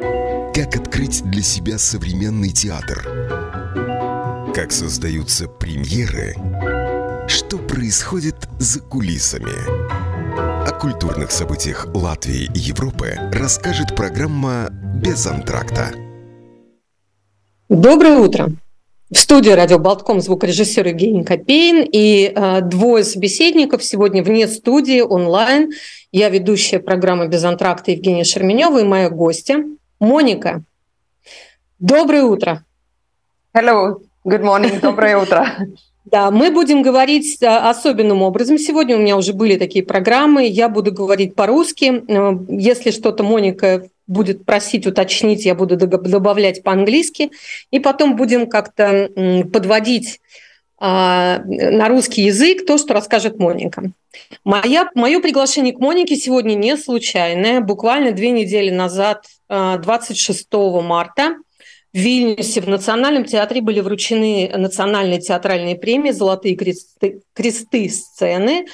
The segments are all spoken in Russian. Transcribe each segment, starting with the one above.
Как открыть для себя современный театр? Как создаются премьеры? Что происходит за кулисами? О культурных событиях Латвии и Европы расскажет программа «Без антракта». Доброе утро! В студии «Радио Болтком» звукорежиссер Евгений Копейн и двое собеседников сегодня вне студии, онлайн. Я ведущая программы «Без антракта» Евгения Шерменева и моя гостья Моника. Доброе утро! Hello, good morning, доброе утро! Да, мы будем говорить особенным образом. Сегодня у меня уже были такие программы. Я буду говорить по-русски. Если что-то Моника будет просить уточнить, я буду добавлять по-английски. И потом будем как-то подводить на русский язык то, что расскажет Моника. Мое приглашение к Монике сегодня не случайное. Буквально 2 недели назад, 26 марта, в Вильнюсе в Национальном театре были вручены национальные театральные премии «Золотые кресты сцены»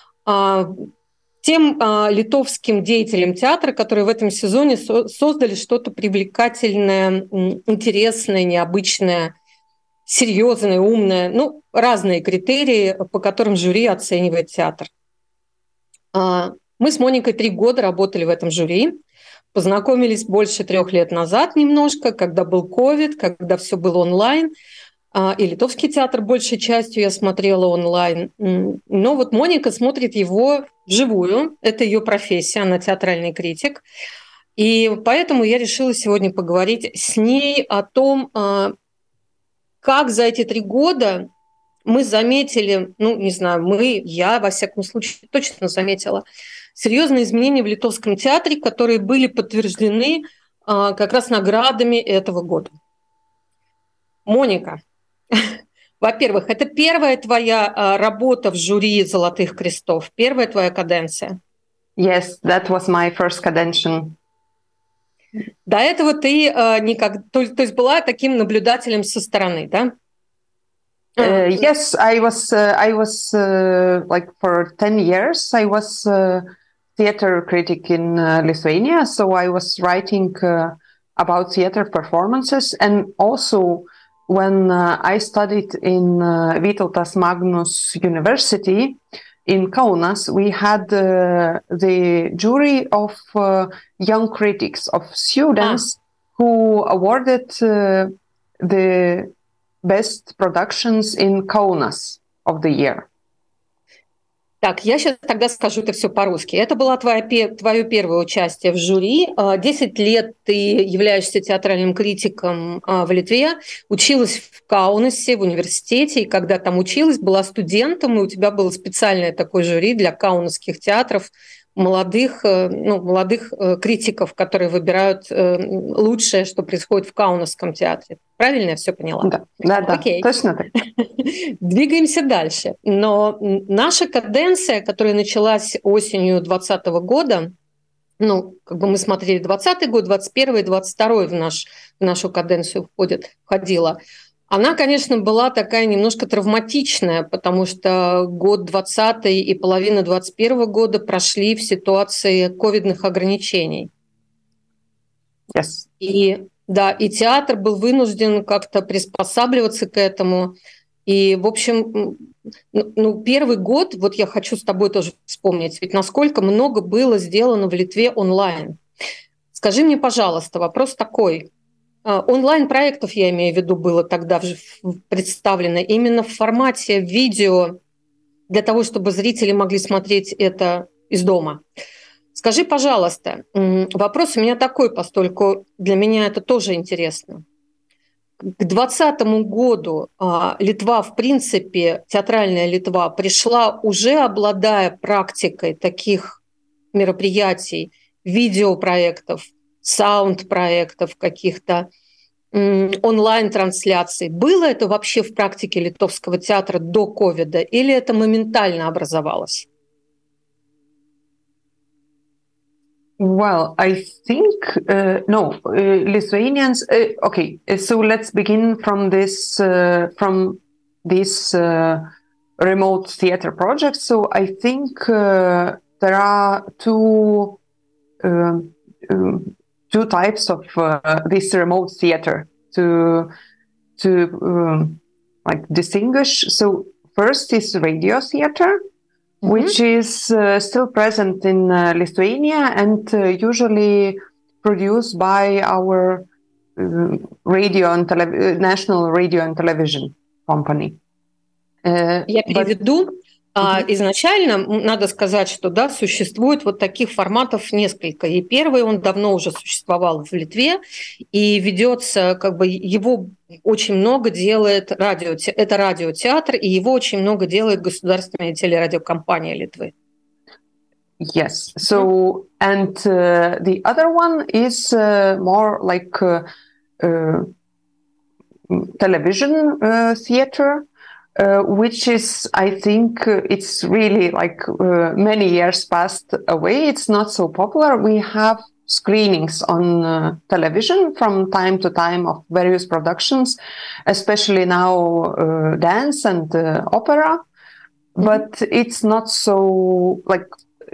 тем литовским деятелям театра, которые в этом сезоне создали что-то привлекательное, интересное, необычное, серьезное, умное. Разные критерии, по которым жюри оценивает театр. Мы с Моникой 3 года работали в этом жюри. Познакомились больше 3 лет назад немножко, когда был ковид, когда все было онлайн. И литовский театр большей частью я смотрела онлайн. Но вот Моника смотрит его вживую. Это ее профессия, она театральный критик. И поэтому я решила сегодня поговорить с ней о том, как за эти 3 года мы заметили, я, во всяком случае, точно заметила, серьезные изменения в литовском театре, которые были подтверждены как раз наградами этого года. Моника, во-первых, это первая твоя работа в жюри «Золотых крестов», первая твоя каденция? Yes, that was my first cadention. До этого ты то есть была таким наблюдателем со стороны, да? Yes, I was like for 10 years, I was theater critic in Lithuania. So I was writing about theater performances. And also when I studied in Vytautas Magnus University in Kaunas, we had the jury of young critics, of students who awarded the best productions in Kaunas of the year. Так, я сейчас тогда скажу это все по-русски. Это было твое первое участие в жюри. 10 лет ты являешься театральным критиком в Литве, училась в Каунасе, в университете, и когда там училась, была студентом, и у тебя было специальное такое жюри для каунасских театров, молодых критиков, которые выбирают лучшее, что происходит в Каунасском театре. Правильно я все поняла? Да, окей. Точно так. Двигаемся дальше. Но наша каденция, которая началась осенью 2020 года, мы смотрели 2020 год, 2021 и 2022 в нашу каденцию входила. Она, конечно, была такая немножко травматичная, потому что год 2020 и половина 2021 года прошли в ситуации ковидных ограничений. Yes. И театр был вынужден как-то приспосабливаться к этому. И, в общем, первый год, вот я хочу с тобой тоже вспомнить, ведь насколько много было сделано в Литве онлайн. Скажи мне, пожалуйста, вопрос такой. Онлайн-проектов, я имею в виду, было тогда представлено именно в формате видео для того, чтобы зрители могли смотреть это из дома. Скажи, пожалуйста, вопрос у меня такой, поскольку для меня это тоже интересно. К 2020 году Литва, в принципе, театральная Литва, пришла уже обладая практикой таких мероприятий, видеопроектов, саунд-проектов каких-то, онлайн-трансляций. Было это вообще в практике литовского театра до ковида или это моментально образовалось? Well, I think Lithuanians. Okay, so let's begin from this remote theater project. So I think there are two two types of this remote theater to like distinguish. So first is radio theater, which is still present in Lithuania and usually produced by our radio and national radio and television company. Я переведу. Изначально надо сказать, что да, существует вот таких форматов несколько. И первый, он давно уже существовал в Литве, и ведется, как бы его очень много делает это радиотеатр, и его очень много делает государственная телерадиокомпания Литвы. Yes. So, and the other one is more like television theater. Which is, I think, it's really like many years passed away. It's not so popular. We have screenings on television from time to time of various productions, especially now dance and opera. But it's not so like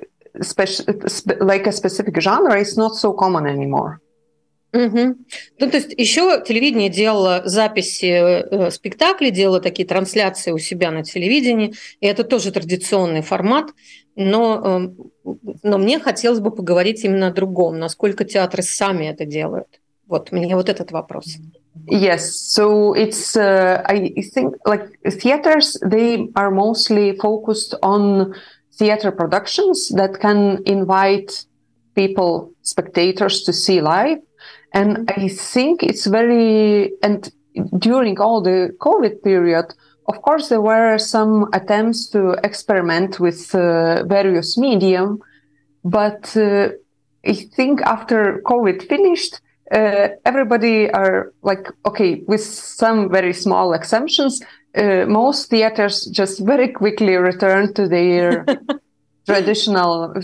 like a specific genre. It's not so common anymore. Ну, то есть еще телевидение делало записи спектаклей, делало такие трансляции у себя на телевидении, и это тоже традиционный формат, но мне хотелось бы поговорить именно о другом, насколько театры сами это делают. Вот, мне вот этот вопрос. Yes, so it's, I think, like theaters, they are mostly focused on theater productions that can invite people, spectators, to see live. And I think it's and during all the COVID period, of course, there were some attempts to experiment with various medium, but I think after COVID finished, everybody are like, okay, with some very small exemptions, most theaters just very quickly return to their traditional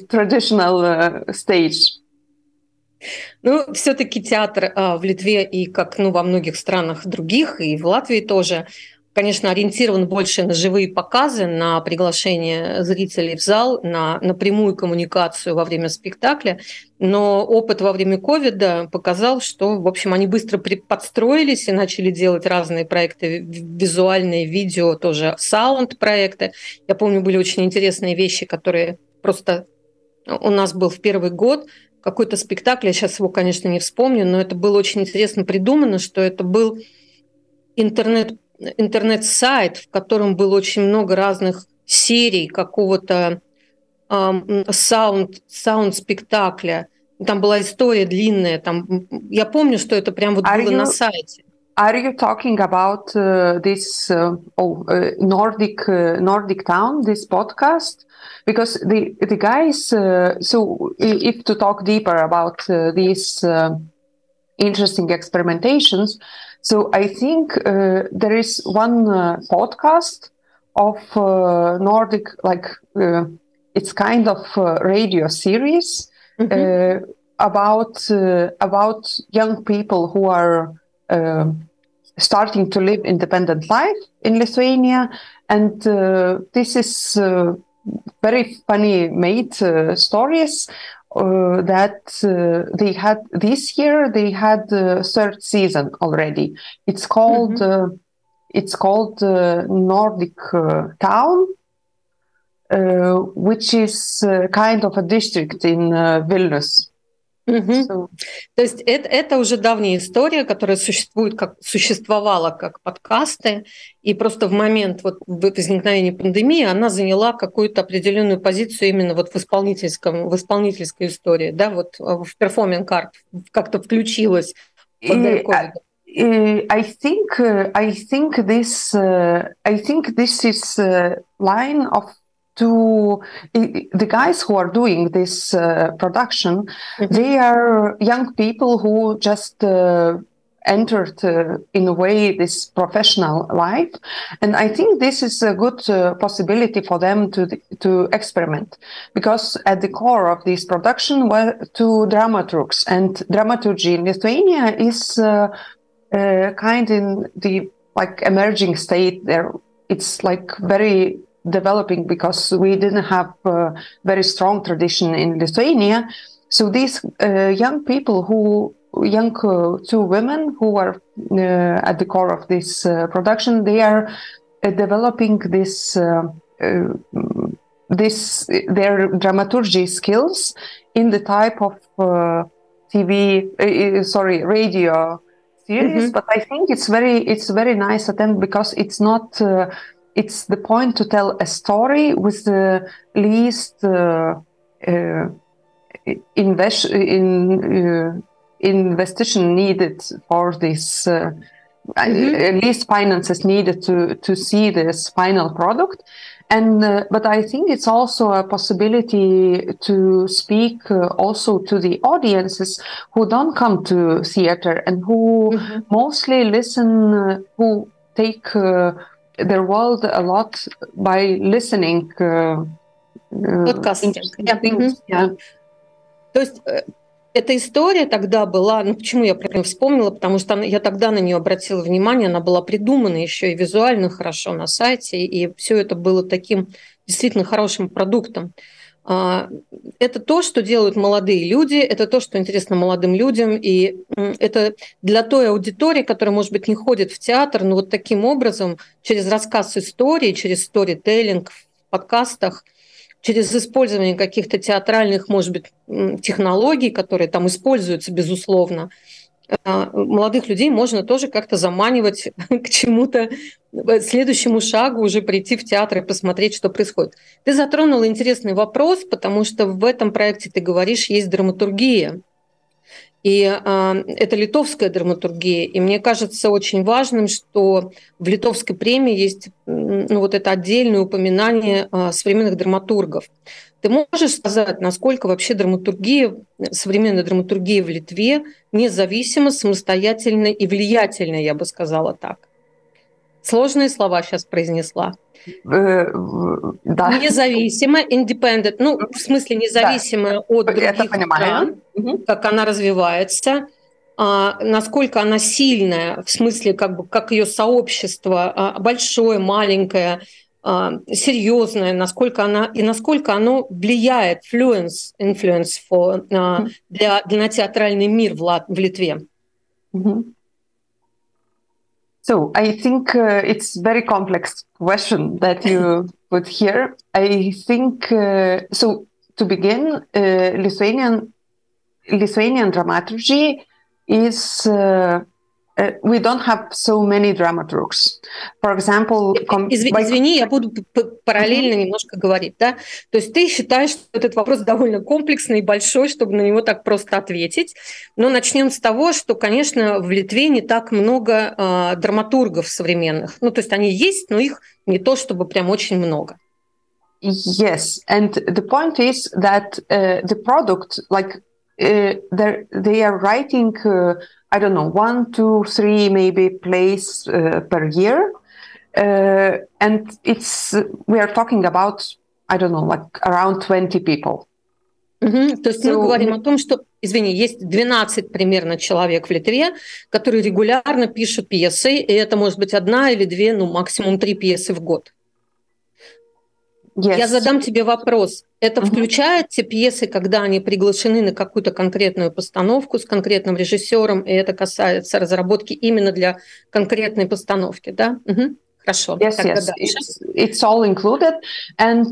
stage. Ну, все-таки театр в Литве и как во многих странах других, и в Латвии тоже, конечно, ориентирован больше на живые показы, на приглашение зрителей в зал, на прямую коммуникацию во время спектакля. Но опыт во время ковида показал, что, в общем, они быстро подстроились и начали делать разные проекты, визуальные, видео, тоже саунд-проекты. Я помню, были очень интересные вещи, которые просто у нас был в первый год, какой-то спектакль, я сейчас его, конечно, не вспомню, но это было очень интересно придумано, что это был интернет-сайт, в котором было очень много разных серий какого-то саунд-спектакля. Там была история длинная. Я помню, что это прям вот было на сайте. Are you talking about this Nordic Town, this podcast? Because the guys, so if to talk deeper about these interesting experimentations, so I think there is one podcast of Nordic, like it's kind of radio series about young people who are starting to live independent life in Lithuania, and this is very funny made stories that they had this year. They had the third season already. It's called Nordic Town, which is kind of a district in Vilnius. So. То есть это уже давняя история, которая существовала как подкасты, и просто в момент возникновения пандемии она заняла какую-то определенную позицию именно в исполнительской истории, да, вот в performing art как-то включилась под ковид. I think this is line of the guys who are doing this production. They are young people who just entered in a way this professional life, and I think this is a good possibility for them to experiment, because at the core of this production were two dramaturgs, and dramaturgy in Lithuania is kind in the like emerging state. There, it's like very developing because we didn't have a very strong tradition in Lithuania. So these young people two women who are at the core of this production, they are developing their dramaturgy skills in the type of radio series. But I think it's very nice attempt because it's not. It's the point to tell a story with the least investigation needed for this. Least finances needed to see this final product. And but I think it's also a possibility to speak also to the audiences who don't come to theater and who mostly listen, who take their world a lot by listening. Подкастинг. То есть эта история тогда была, ну почему я про нее вспомнила, потому что я тогда на нее обратила внимание, она была придумана еще и визуально хорошо на сайте, и все это было таким действительно хорошим продуктом. Это то, что делают молодые люди, это то, что интересно молодым людям, и это для той аудитории, которая, может быть, не ходит в театр, но вот таким образом, через рассказ истории, через сторителлинг в подкастах, через использование каких-то театральных, может быть, технологий, которые там используются, безусловно, молодых людей можно тоже как-то заманивать к чему-то, следующему шагу, уже прийти в театр и посмотреть, что происходит. Ты затронула интересный вопрос, потому что в этом проекте, ты говоришь, есть драматургия. И это литовская драматургия. И мне кажется очень важным, что в Литовской премии есть вот это отдельное упоминание современных драматургов. Ты можешь сказать, насколько вообще драматургия, современная драматургия в Литве независима, самостоятельна и влиятельна, я бы сказала так? Сложные слова сейчас произнесла. Да. Независимо, independent, ну, в смысле независимая от других стран, как она развивается, насколько она сильная, в смысле, как ее сообщество, большое, маленькое, серьезное, насколько оно влияет, influence на театральный мир в Литве. So I think it's a very complex question that you put here. I think so. To begin, Lithuanian dramaturgy is we don't have so many dramaturgs. For example, извини, я буду параллельно немножко говорить, да? То есть ты считаешь, что этот вопрос довольно комплексный и большой, чтобы на него так просто ответить. Но начнем с того, что, конечно, в Литве не так много драматургов современных. Ну, то есть они есть, но их не то чтобы прям очень много. Yes, and the point is that the product, like they are writing, I don't know, 1, 2, 3 maybe plays per year, and we are talking about, I don't know, like around 20 people. То есть мы говорим о том, что, извини, есть 12 примерно человек в Литве, которые регулярно пишут пьесы, и это может быть 1 или 2, ну максимум 3 пьесы в год. Yes. Я задам тебе вопрос. Это включает те пьесы, когда они приглашены на какую-то конкретную постановку с конкретным режиссером, и это касается разработки именно для конкретной постановки, да? Хорошо. Yes, yes. It's all included. And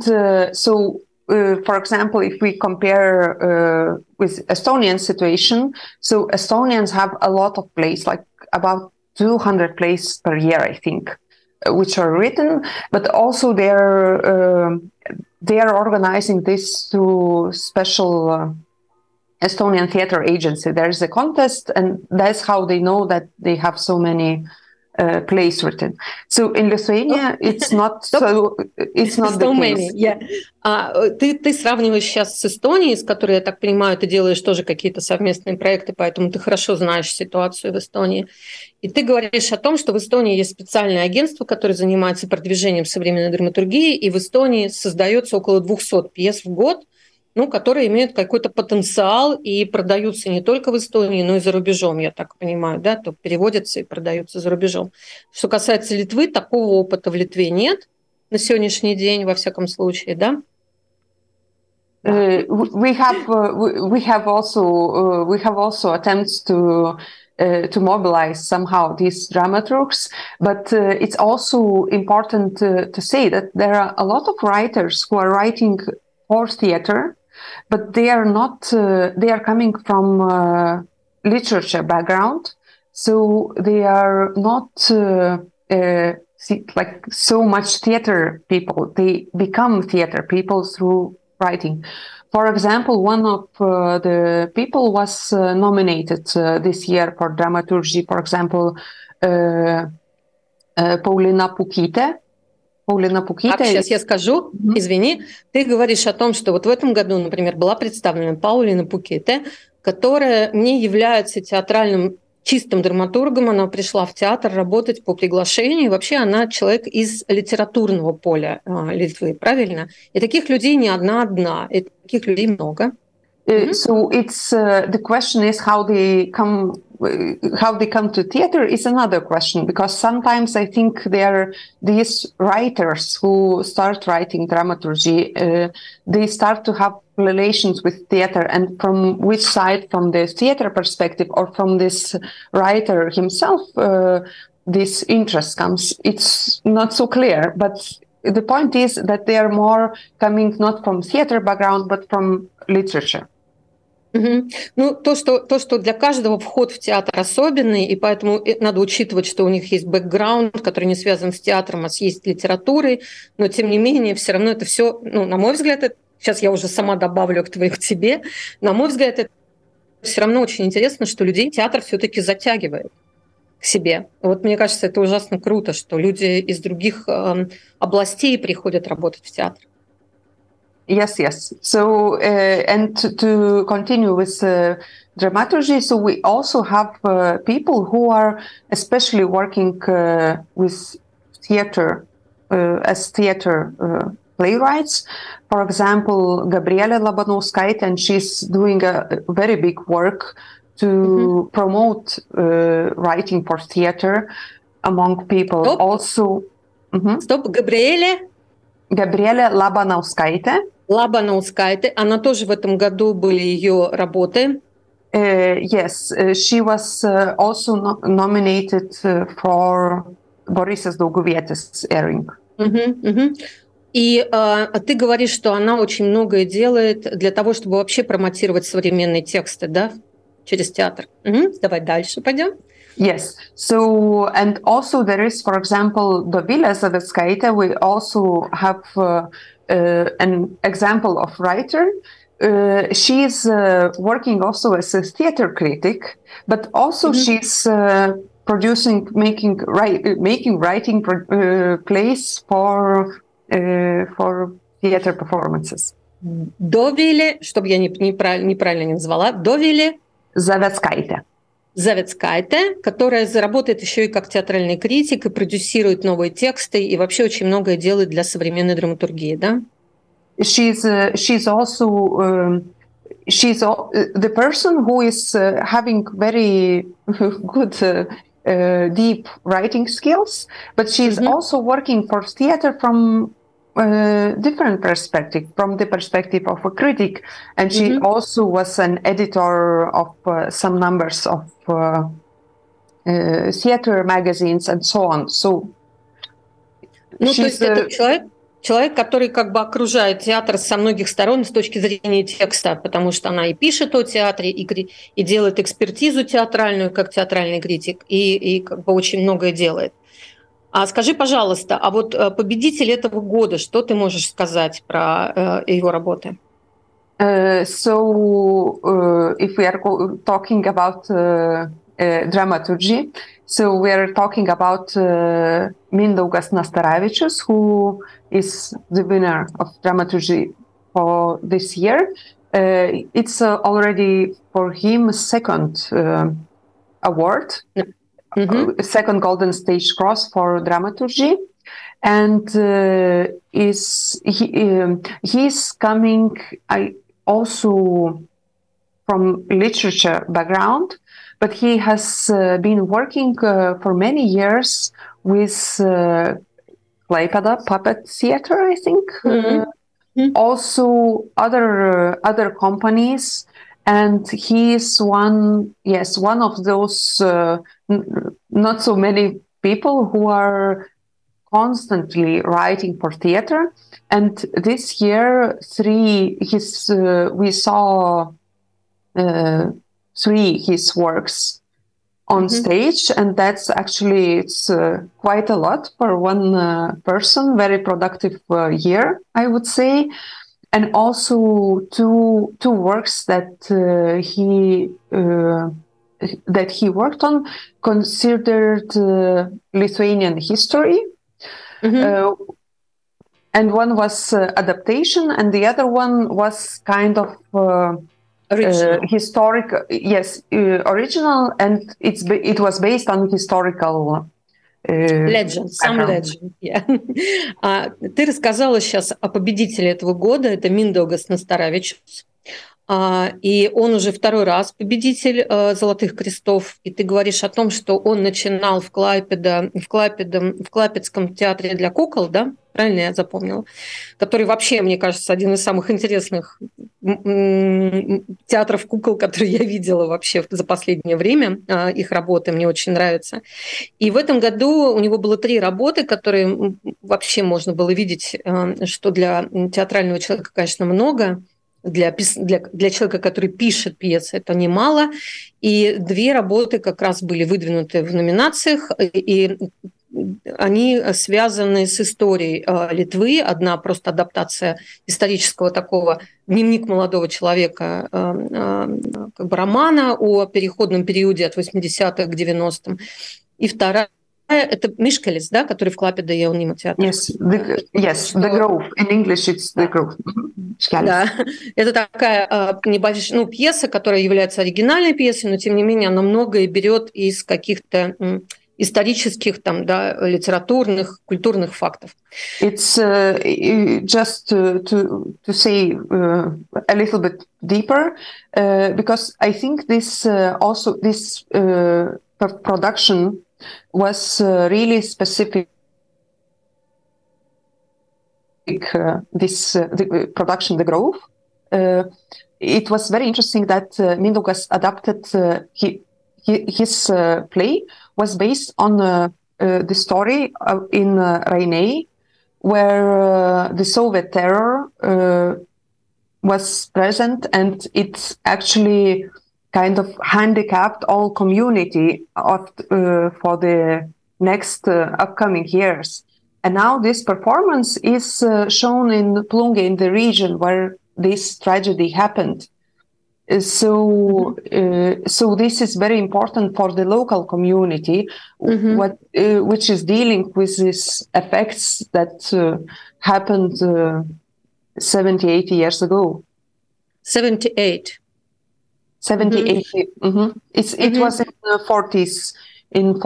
for example, if we compare with Estonian situation, so Estonians have a lot of plays, like about 200 plays per year, I think, which are written, but also they are organizing this through special Estonian theater agency. There's a contest, and that's how they know that they have so many plays written. So in Lithuania, it's not the case. Yeah. Ты сравниваешь сейчас с Эстонией, с которой, я так понимаю, ты делаешь тоже какие-то совместные проекты, поэтому ты хорошо знаешь ситуацию в Эстонии. И ты говоришь о том, что в Эстонии есть специальное агентство, которое занимается продвижением современной драматургии, и в Эстонии создается около 200 пьес в год, ну, которые имеют какой-то потенциал и продаются не только в Эстонии, но и за рубежом, я так понимаю, да, то переводятся и продаются за рубежом. Что касается Литвы, такого опыта в Литве нет на сегодняшний день, во всяком случае, да? We have also attempts to mobilize somehow these dramaturgs, but it's also important to say that there are a lot of writers who are writing for theater, but they are not. They are coming from literature background, so they are not like so much theater people. They become theater people through writing. For example, one of the people was nominated this year for dramaturgy. For example, Paulina Pukytė. Сейчас я скажу, извини, ты говоришь о том, что вот в этом году, например, была представлена Паулина Pukytė, которая не является театральным чистым драматургом, она пришла в театр работать по приглашению. И вообще она человек из литературного поля Литвы, правильно? И таких людей не одна, и таких людей много. So it's the question is how they come to theater is another question, because sometimes I think these writers who start writing dramaturgy, they start to have relations with theater, and from which side, from the theater perspective or from this writer himself, this interest comes. It's not so clear, but the point is that they are more coming not from theater background, but from literature. Ну, то, что для каждого вход в театр особенный, и поэтому надо учитывать, что у них есть бэкграунд, который не связан с театром, а с литературой, но тем не менее все равно это все, ну, на мой взгляд, сейчас я уже сама добавлю к тебе, на мой взгляд, это все равно очень интересно, что людей театр все-таки затягивает к себе. Вот мне кажется, это ужасно круто, что люди из других областей приходят работать в театр. Yes. So, and to continue with dramaturgy, so we also have people who are especially working with theater as theater playwrights. For example, Gabrielė Labanauskaitė, and she's doing a very big work to promote writing for theater among people. Stop. Also, Стоп, Gabrielė Labanauskaitė. Labanauskaitė, она тоже в этом году были ее работы. Yes, she was also nominated for Borisas Dauguvietis airing. И ты говоришь, что она очень многое делает для того, чтобы вообще промотировать современные тексты, да, через театр. Давай дальше пойдем. Yes. So, and also there is, for example, Dovilė Zaveckaitė. We also have an example of writer. She's working also as a theater critic, but also she's making writing plays for theater performances. Dovilė, чтобы я неправильно не назвала, Dovilė Завецкаitė, которая заработает еще и как театральный критик и продюсирует новые тексты и вообще очень многое делает для современной драматургии, да? She's also the person who is having very good deep writing skills, but she's also working for theater from different perspective, from the perspective of a critic, and she also was an editor of some numbers of theater magazines and so on. So, ну, то есть это человек, который как бы окружает театр со многих сторон с точки зрения текста, потому что она и пишет о театре, и делает экспертизу театральную, как театральный критик, и как бы очень многое делает. А скажи, пожалуйста, а вот победитель этого года, что ты можешь сказать про его работы? So, if we are talking about dramaturgy, so we are talking about Mindaugas Nastaravičius, who is the winner of dramaturgy for this year. It's already for him second award. Second Golden Stage Cross for dramaturgy, and he's coming also from literature background, but he has been working for many years with Klaipėda Puppet Theatre, I think. also other companies. And he is one of those not so many people who are constantly writing for theater. And this year, we saw three his works on stage, and that's actually it's quite a lot for one person. Very productive year, I would say. And also two works that he worked on, considered Lithuanian history, and one was adaptation, and the other one was kind of historic. Yes, original, and it was based on historical. Legend, сам legend. Yeah. Ты рассказала сейчас о победителе этого года, это Миндаugis Nastaravičius. И он уже второй раз победитель «Золотых крестов». И ты говоришь о том, что он начинал в Клайпедском театре для кукол, да? Правильно я запомнила? Который вообще, мне кажется, один из самых интересных театров кукол, которые я видела вообще за последнее время. Их работы мне очень нравятся. И в этом году у него было 3 работы, которые вообще можно было видеть, что для театрального человека, конечно, много. Для человека, который пишет пьесы, это немало. И 2 работы как раз были выдвинуты в номинациях, и они связаны с историей Литвы. Одна просто адаптация исторического такого дневник молодого человека, как бы романа о переходном периоде от 80-х к 90-м. И вторая это Мишкелис, да, который в Клайпеде Jaunimo театре. Yes, the Grove. In English it's the Grove. Да, это такая небольшая пьеса, которая является оригинальной пьесой, но тем не менее она многое берет из каких-то исторических, там, да, литературных, культурных фактов. It's just to say a little bit deeper, because I think this production was really specific. The production, The Grove. It was very interesting that Mindaugas adapted his play was based on the story in Rainej, where the Soviet terror was present, and it actually kind of handicapped all community for the next upcoming years. And now this performance is shown in Plunge, in the region where this tragedy happened. So this is very important for the local community, which is dealing with these effects that happened 70, 80 years ago. 78. 70, 80. It was in the 40s. In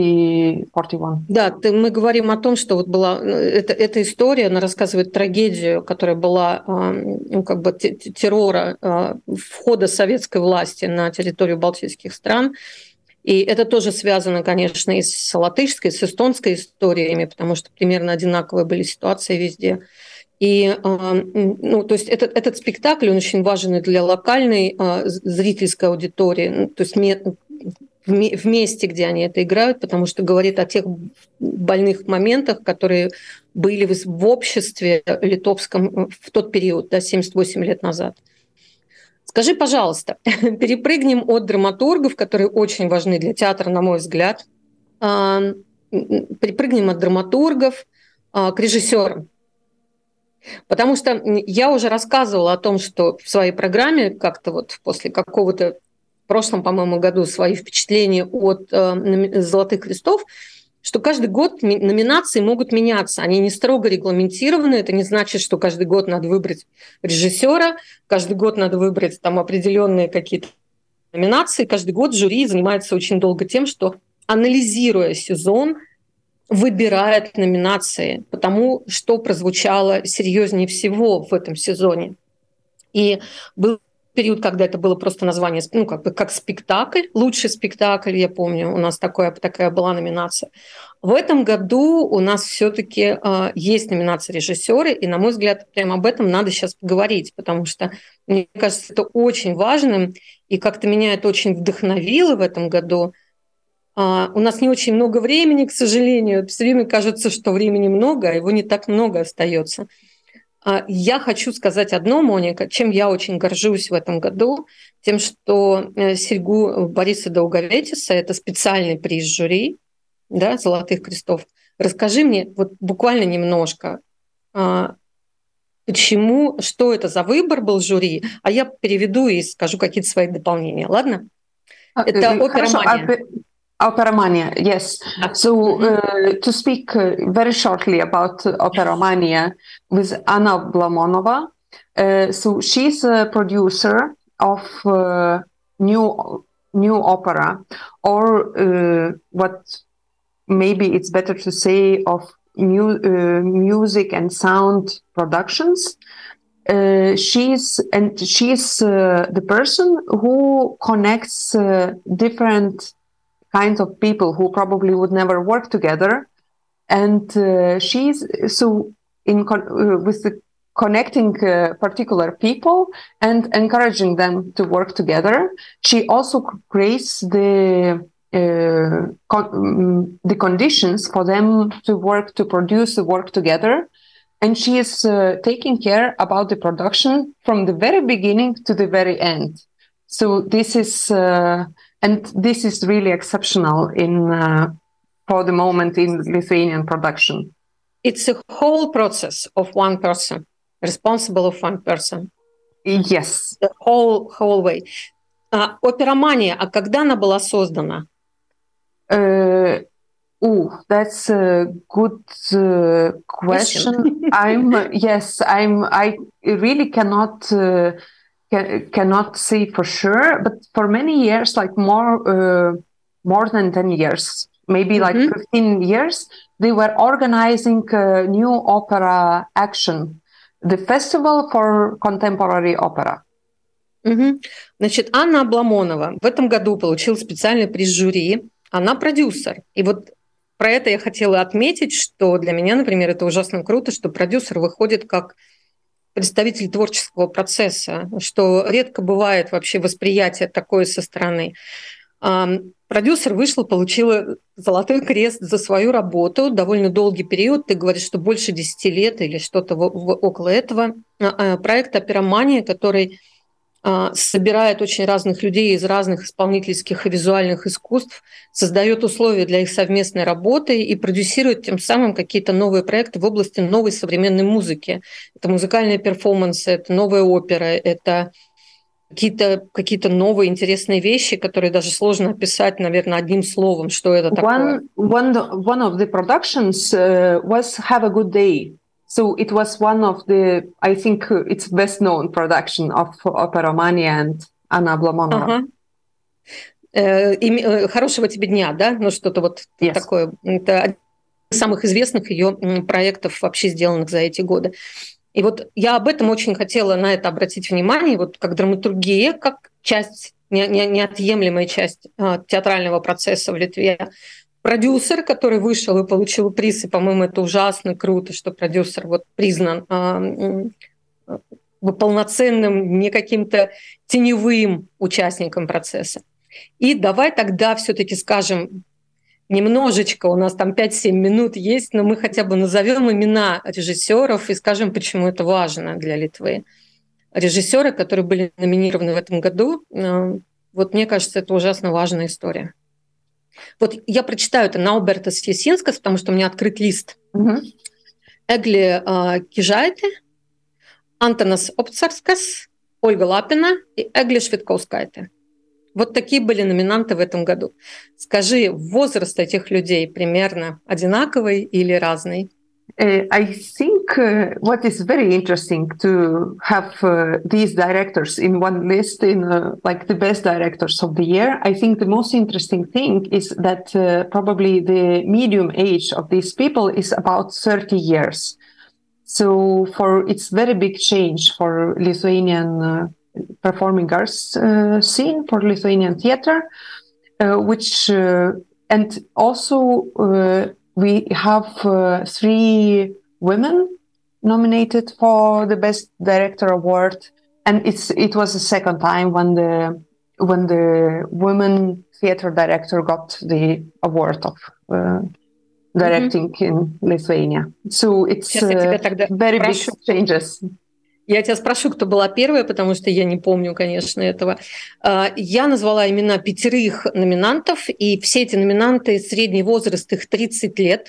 41. Да, мы говорим о том, что вот была эта история, она рассказывает трагедию, которая была как бы террора входа советской власти на территорию балтийских стран. И это тоже связано, конечно, и с латышской, с эстонской историями, потому что примерно одинаковые были ситуации везде. И, то есть этот спектакль, он очень важен и для локальной зрительской аудитории, то есть в месте, где они это играют, потому что говорит о тех больных моментах, которые были в обществе литовском в тот период, да, 78 лет назад. Скажи, пожалуйста, перепрыгнем от драматургов, которые очень важны для театра, на мой взгляд, перепрыгнем от драматургов к режиссерам. Потому что я уже рассказывала о том, что в своей программе как-то вот после какого-то в прошлом, по-моему, году свои впечатления от «Золотых крестов», что каждый год номинации могут меняться. Они не строго регламентированы. Это не значит, что каждый год надо выбрать режиссера, каждый год надо выбрать там определенные какие-то номинации. Каждый год жюри занимается очень долго тем, что, анализируя сезон, выбирает номинации по тому, что прозвучало серьезнее всего в этом сезоне. И было период, когда это было просто название, ну, как спектакль, лучший спектакль, я помню, у нас такая была номинация. В этом году у нас все-таки есть номинация режиссеры, и, на мой взгляд, прямо об этом надо сейчас поговорить, потому что, мне кажется, это очень важным, и как-то меня это очень вдохновило в этом году. У нас не очень много времени, к сожалению. Все время кажется, что времени много, а его не так много остается. Я хочу сказать одно, Моника, чем я очень горжусь в этом году, тем, что серьгу Бориса Долговечеса, это специальный приз жюри, да, «Золотых крестов». Расскажи мне вот буквально немножко, почему, что это за выбор был жюри, а я переведу и скажу какие-то свои дополнения, ладно? Это «Оперомания». Operomania, yes. So to speak very shortly about Operomania with Anna Blamonova. So she's a producer of new opera, or what maybe it's better to say of music and sound productions. She's the person who connects different kinds of people who probably would never work together, and she's so with the connecting particular people and encouraging them to work together. She also creates the conditions for them to produce the work together, and she is taking care about the production from the very beginning to the very end. So this is really exceptional for the moment in Lithuanian production. It's a whole process of one person, responsible of one person. Yes. The whole way. Оперомания, а когда она была создана? That's a good question. I really cannot say for sure, but for many years, like more than 10 years, maybe like 15 years, they were organizing a new opera action, the Festival for Contemporary Opera. Значит, Анна Абламонова в этом году получила специальный приз жюри. Она продюсер. И вот про это я хотела отметить, что для меня, например, это ужасно круто, что продюсер выходит как представитель творческого процесса, что редко бывает вообще восприятие такое со стороны. Продюсер вышла, получила Золотой крест за свою работу, довольно долгий период, ты говоришь, что больше 10 лет или что-то около этого. Проект «Оперомания», который собирает очень разных людей из разных исполнительских и визуальных искусств, создает условия для их совместной работы и продюсирует тем самым какие-то новые проекты в области новой современной музыки. Это музыкальные перформансы, это новая опера, это какие-то новые интересные вещи, которые даже сложно описать, наверное, одним словом, что это такое. One of the productions was Have a Good Day. So it was one of the, I think it's best known production of Operomania and Anna Ablamonova. Хорошего тебе дня, да? Ну, что-то вот такое. Это один из самых известных ее проектов, вообще сделанных за эти годы. И вот я об этом очень хотела на это обратить внимание, вот как драматургия, как часть, неотъемлемая часть театрального процесса в Литве. Продюсер, который вышел и получил приз, и, по-моему, это ужасно круто, что продюсер вот признан полноценным, не каким-то теневым участником процесса. И давай тогда все-таки скажем немножечко, у нас там 5-7 минут есть, но мы хотя бы назовем имена режиссеров и скажем, почему это важно для Литвы. Режиссеры, которые были номинированы в этом году, вот мне кажется, это ужасно важная история. Вот я прочитаю это Наубертас Ясинскас, потому что у меня открыт лист. Эгли Кижайте, Антонас Опцарскас, Ольга Лапина и Эгли Швидкоускайте. Вот такие были номинанты в этом году. Скажи, возраст этих людей примерно одинаковый или разный? I think what is very interesting to have these directors in one list, in like the best directors of the year. I think the most interesting thing is that probably the medium age of these people is about 30 years. So it's very big change for Lithuanian performing arts scene for Lithuanian theater, and also we have 3 women nominated for the Best Director Award, and it was the second time when the women theater director got the award of directing in Lithuania. So it's very big changes. Я тебя спрошу, кто была первая, потому что я не помню, конечно, этого. Я назвала имена 5 номинантов, и все эти номинанты, средний возраст их 30 лет.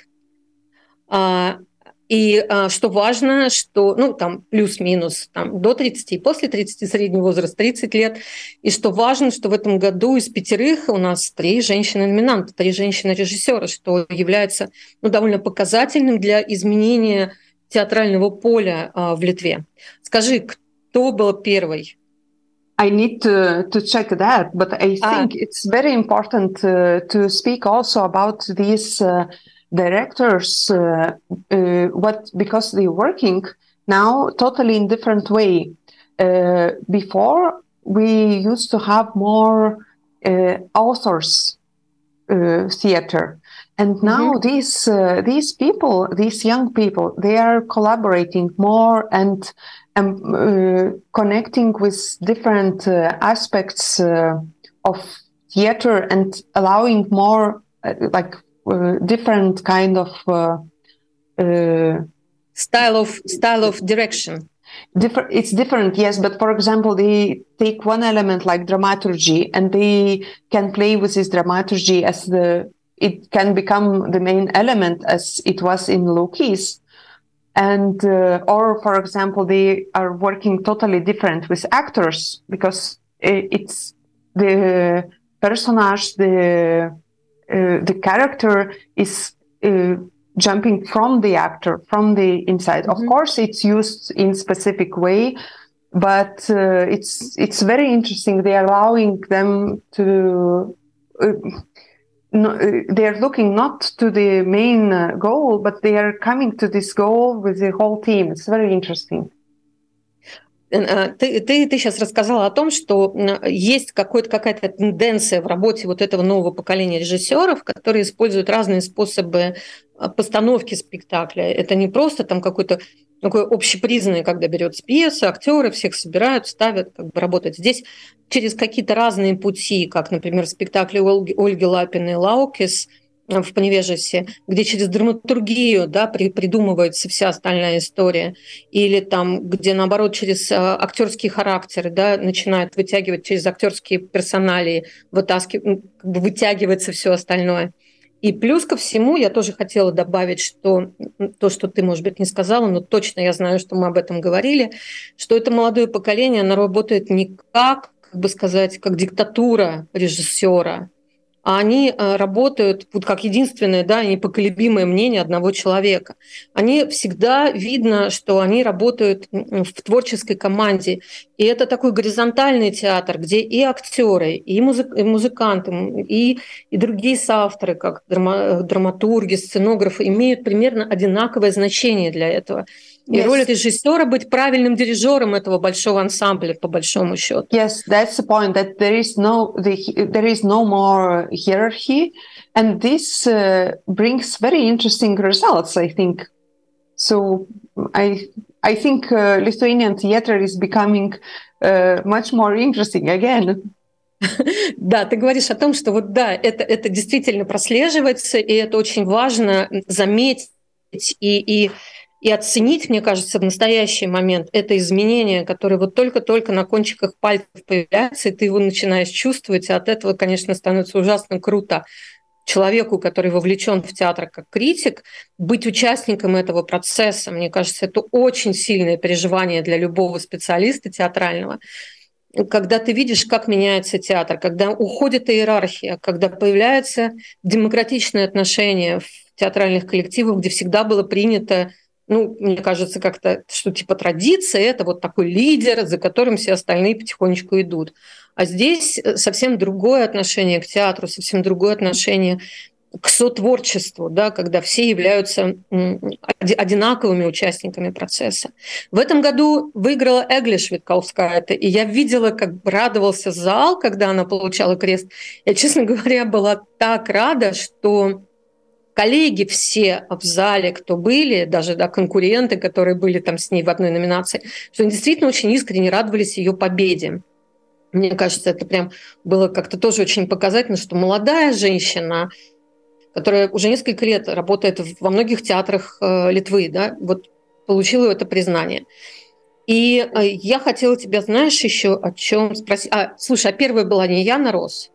И что важно, что, там плюс-минус там, до 30 и после 30, средний возраст 30 лет. И что важно, что в этом году из 5 у нас 3 женщины-номинанта, 3 женщины-режиссера, что является довольно показательным для изменения театрального поля в Литве. Скажи, кто был первый? I need to check that, but I think it's very important to speak also about these directors, because they're working now totally in different way. Before we used to have more authors theater, and now these people, these young people, they are collaborating more and connecting with different aspects of theater and allowing more different kind of style of direction. It's different, yes, but for example, they take one element like dramaturgy, and they can play with this dramaturgy as it can become the main element as it was in Lokis. And or for example, they are working totally different with actors, because it's the personage, the character is jumping from the actor, from the inside. Of course, it's used in specific way, but it's very interesting. They are allowing them to. They are looking not to the main goal, but they are coming to this goal with the whole team. It's very interesting. Ты сейчас рассказала о том, что есть какая-то тенденция в работе вот этого нового поколения режиссеров, которые используют разные способы постановки спектакля. Это не просто там какой-то такой общепризнанный, когда берется пьеса, актеры всех собирают, ставят, работают. Здесь через какие-то разные пути, как, например, в спектакле Ольги Лапиной «Лаукис» в Поневежесе, где через драматургию придумывается вся остальная история, или там, где, наоборот, через актерские характеры начинают вытягивать, через актерские персоналии вытягивается все остальное. И плюс ко всему я тоже хотела добавить, что то, что ты, может быть, не сказала, но точно я знаю, что мы об этом говорили, что это молодое поколение, оно работает не как диктатура режиссера, а они работают как единственное, непоколебимое мнение одного человека. Они всегда видно, что они работают в творческой команде. И это такой горизонтальный театр, где и актеры, и музыканты, и другие соавторы, как драматурги, сценографы, имеют примерно одинаковое значение для этого. И роль режиссера быть правильным дирижером этого большого ансамбля, по большому счету. Yes, that's the point. That there is no more hierarchy, and this brings very interesting results, I think. So I think Lithuanian theater is becoming much more interesting again. Да, ты говоришь о том, что это действительно прослеживается, и это очень важно заметить и оценить, мне кажется, в настоящий момент это изменение, которое только-только на кончиках пальцев появляется, и ты его начинаешь чувствовать, и от этого, конечно, становится ужасно круто человеку, который вовлечен в театр как критик, быть участником этого процесса. Мне кажется, это очень сильное переживание для любого специалиста театрального. Когда ты видишь, как меняется театр, когда уходит иерархия, когда появляется демократичное отношение в театральных коллективах, где всегда было принято, мне кажется, как-то, что типа традиция – это вот такой лидер, за которым все остальные потихонечку идут. А здесь совсем другое отношение к театру, совсем другое отношение к сотворчеству, да, когда все являются одинаковыми участниками процесса. В этом году выиграла Эгли Швидкаускайте, и я видела, как радовался зал, когда она получала крест. Я, честно говоря, была так рада, что коллеги все в зале, кто были, даже конкуренты, которые были там с ней в одной номинации, что они действительно очень искренне радовались ее победе. Мне кажется, это прям было как-то тоже очень показательно, что молодая женщина, которая уже несколько лет работает во многих театрах Литвы, да, вот получила это признание. И я хотела тебя, знаешь, еще о чем спросить. Слушай, первая была не Яна Рос?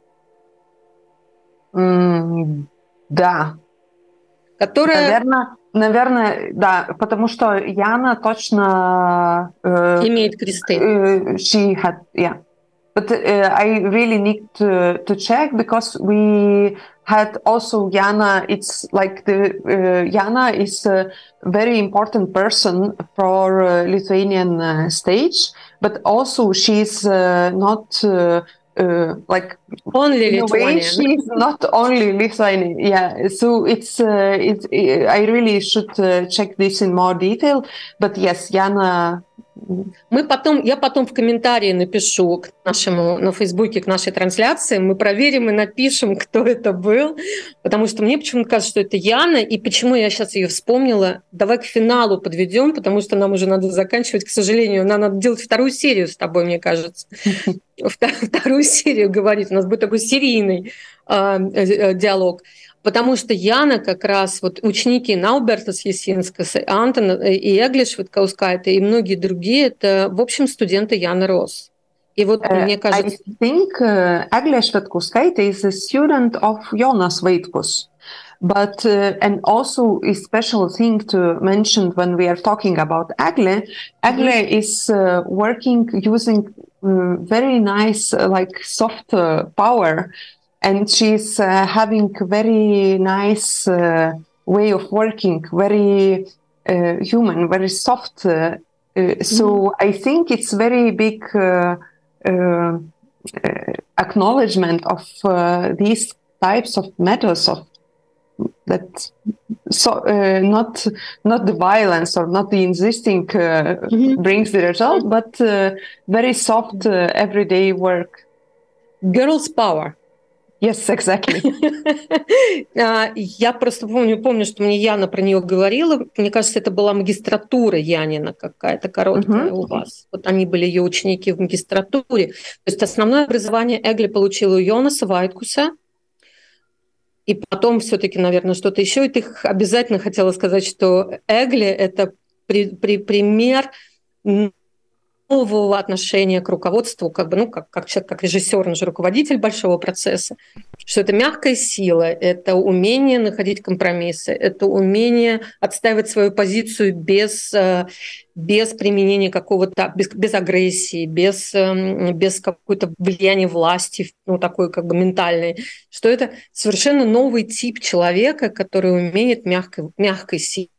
Да. Которая... Наверное, да, потому что Яна точно... имеет кресты. She had, yeah. But I really need to check, because we had also Jana. It's like Jana is a very important person for Lithuanian stage, but also she's not like only Lithuanian. She's not only Lithuanian. Yeah, so it's I really should check this in more detail. But yes, Jana. Я потом в комментарии напишу к нашему, на Фейсбуке, к нашей трансляции, мы проверим и напишем, кто это был, потому что мне почему-то кажется, что это Яна, и почему я сейчас ее вспомнила. Давай к финалу подведем, потому что нам уже надо заканчивать, к сожалению. Нам надо делать вторую серию с тобой, мне кажется. Вторую серию говорить. У нас будет такой серийный диалог. Потому что Яна как раз, вот ученики Наубертас Есинскас, Антон и Эгли Швидкаускайте и многие другие, это, в общем, студенты Яны Рос. И вот мне кажется... I think Эгли Швидкаускайте is a student of Jonas Vaitkus. But, and also a special thing to mention when we are talking about Эгли is working using very nice, like soft power. And she's having very nice way of working, very human, very soft. So I think it's very big acknowledgement of these types of methods of that. So not the violence or not the insisting brings the result, but very soft everyday work. Girls' power. Yes, exactly. Я просто помню, что мне Яна про нее говорила. Мне кажется, это была магистратура Янина какая-то короткая у вас. Вот они были ее ученики в магистратуре. То есть основное образование Эгли получила у Йонаса Вайткуса. И потом все-таки, наверное, что-то еще. И ты обязательно хотела сказать, что Эгли – это пример нового отношения к руководству, как человек, как режиссер, он же руководитель большого процесса, что это мягкая сила, это умение находить компромиссы, это умение отстаивать свою позицию без применения какого-то, без агрессии, без какого-то влияния власти, такой ментальной, что это совершенно новый тип человека, который умеет мягкой силой